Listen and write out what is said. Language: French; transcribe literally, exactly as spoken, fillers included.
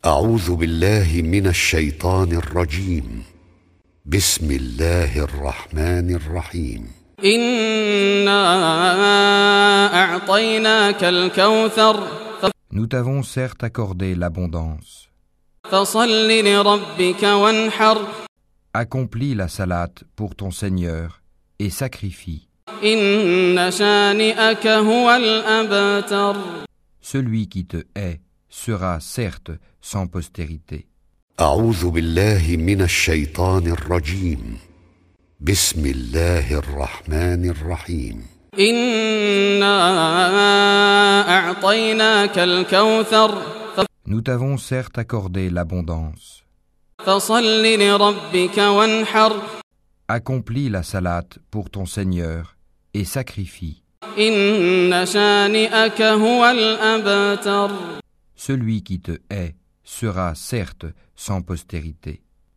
أعوذ بالله من الشيطان الرجيم. بسم الله الرحمن الرحيم. إنا أعطيناك الكوثر. Nous t'avons certes accordé l'abondance. فصل لربك وانحر. Accomplis la salate pour ton Seigneur et sacrifie. إن شانئك هو الأبتر. Celui qui te hait sera certes sans postérité. أعوذ بالله من الشيطان الرجيم. بسم الله الرحمن الرحيم. إنا أعطيناك الكوثر. Nous t'avons certes accordé l'abondance. فصل لربك وانحر. Accomplis la salate pour ton Seigneur et sacrifie. إن شانئك هو الأبتر. Celui qui te hait sera certes sans postérité.